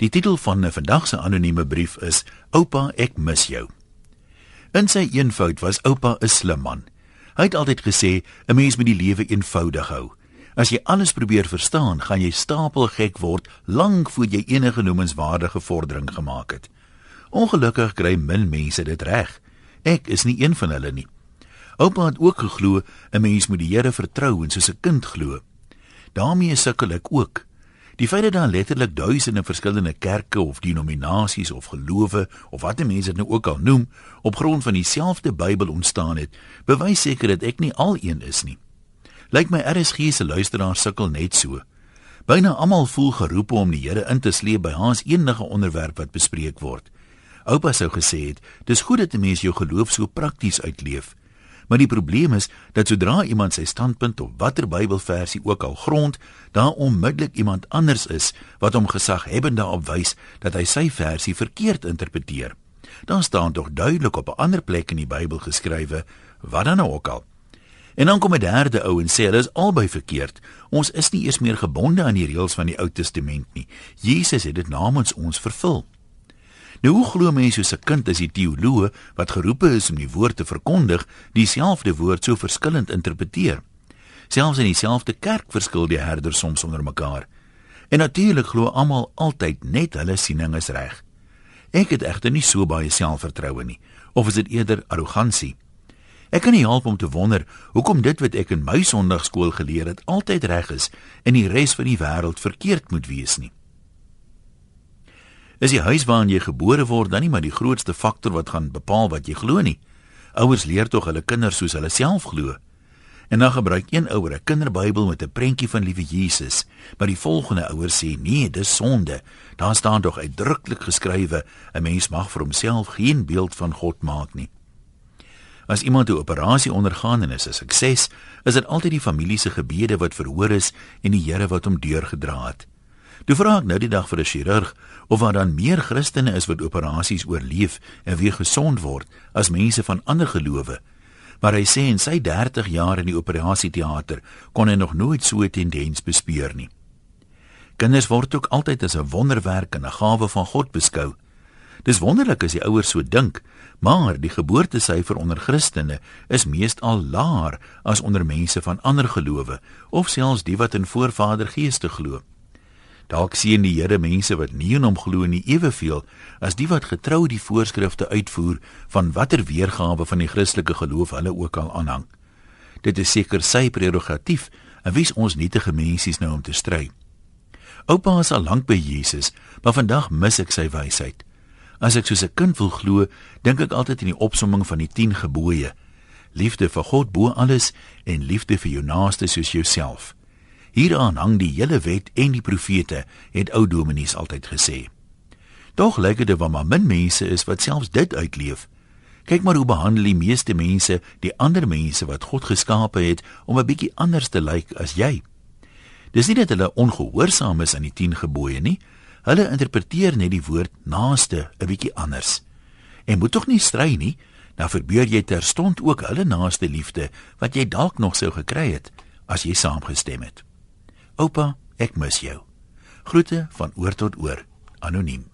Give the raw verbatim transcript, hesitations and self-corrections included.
Die titel van 'n vandag se anonieme brief is Oupa, ek mis jou. In sy eenvoud was oupa 'n slim man. Hy het altyd gesê, 'n mens moet die lewe eenvoudig hou. As jy alles probeer verstaan, gaan jy stapelgek word lank voor jy enige noemenswaardige vordering gemaak het. Ongelukkig kry min mense dit reg. Ek is nie een van hulle nie. Oupa het ook geglo, 'n mens moet die Here vertrou en soos 'n kind glo. Daarmee sukkel ek ook. Die feit dat daar letterlik duisende verskillende kerke of denominasies of gelowe of wat die mense dit nou ook al noem, op grond van dieselfde Bybel ontstaan het, bewys seker dat ek nie al een is nie. Lyk my R S G se luisteraars sukkel net so. Byna almal voel geroep om die Here in te sleep by haas enige onderwerp wat bespreek word. Oupa sou gesê het, dis goed dat 'n mens jou geloof so prakties uitleef. Maar die probleem is, dat sodra iemand sy standpunt op watter Bybelversie ook al grond, daar onmiddellik iemand anders is, wat hom gesaghebbend daarop wys, dat hy sy versie verkeerd interpreteer. Dan staan tog duidelik op 'n ander plek in die Bybel geskrywe, wat dan nou ook al. En dan kom 'n derde ou en sê, hulle is albei verkeerd, ons is nie eers meer gebonde aan die reëls van die Ou Testament nie, Jesus het dit namens ons vervul. Nou hoe glo mens soos 'n kind as die teoloog, wat geroepe is om die woord te verkondig, dieselfde woord so verskillend interpreteer? Selfs in dieselfde kerk verskil die herders soms onder mekaar. En natuurlik glo almal altyd net hulle siening is reg. Ek het egter nie so baie selfvertroue nie, of is dit eerder arrogansie? Ek kan nie help om te wonder, hoekom dit wat ek in my sonndagskool geleer het, altyd reg is, en die res van die wêreld verkeerd moet wees nie. Is die huis waarin jy gebore word dan nie maar die grootste faktor wat gaan bepaal wat jy glo nie? Ouers leer tog hulle kinders soos hulle self glo. En dan gebruik een ouer 'n kinderbybel met 'n prentjie van liewe Jesus, maar die volgende ouer sê, nee, dis sonde. Daar staan tog uitdruklik geskrywe, 'n mens mag vir homself geen beeld van God maak nie. As iemand 'n operasie ondergaan en is 'n sukses, is dit altyd die familie se gebede wat verhoor is en die Here wat hom deurgedra het. Toe vra ek nou die dag vir 'n chirurg of daar dan meer Christene is wat operasies oorleef en weer gesond word as mense van ander gelowe. Maar hy sê in sy dertig jaar in die operasieteater kon hy nog nooit so 'n tendens bespeur nie. Kinders word ook altyd as 'n wonderwerk en 'n gawe van God beskou. Dis wonderlik as die ouers so dink, maar die geboortesyfer onder Christene is meestal laer as onder mense van ander gelowe of selfs die wat in voorvadergeeste glo. Dalk sien die Here mense wat nie in hom glo nie eweveel as die wat getrou die voorskrifte uitvoer van watter weergawe van die Christelike geloof hulle ook al aanhang. Dit is seker sy prerogatief en wie's ons nietige mensies nou om te stry. Oupa is al lank by Jesus, maar vandag mis ek sy wysheid. As ek soos 'n kind wil glo, dink ek altyd in die opsomming van die tien gebooie. Liefde vir God bo alles en liefde vir jou naaste soos jouself. Hieraan hang die hele wet en die profete, het ou dominees altyd gesê. Tog lyk dit of maar min mense is wat selfs dit uitleef. Kyk maar hoe behandel die meeste mense die ander mense wat God geskape het om 'n bietjie anders te lyk as jy. Dis nie dat hulle ongehoorsaam is aan die tien gebooie nie, hulle interpreteer net die woord naaste 'n bietjie anders. En moet tog nie stry nie, dan verbeur jy terstond ook hulle naaste liefde wat jy dalk nog sou gekry het as jy saamgestem het. Oupa, ek mis jou. Groete van oor tot oor, anoniem.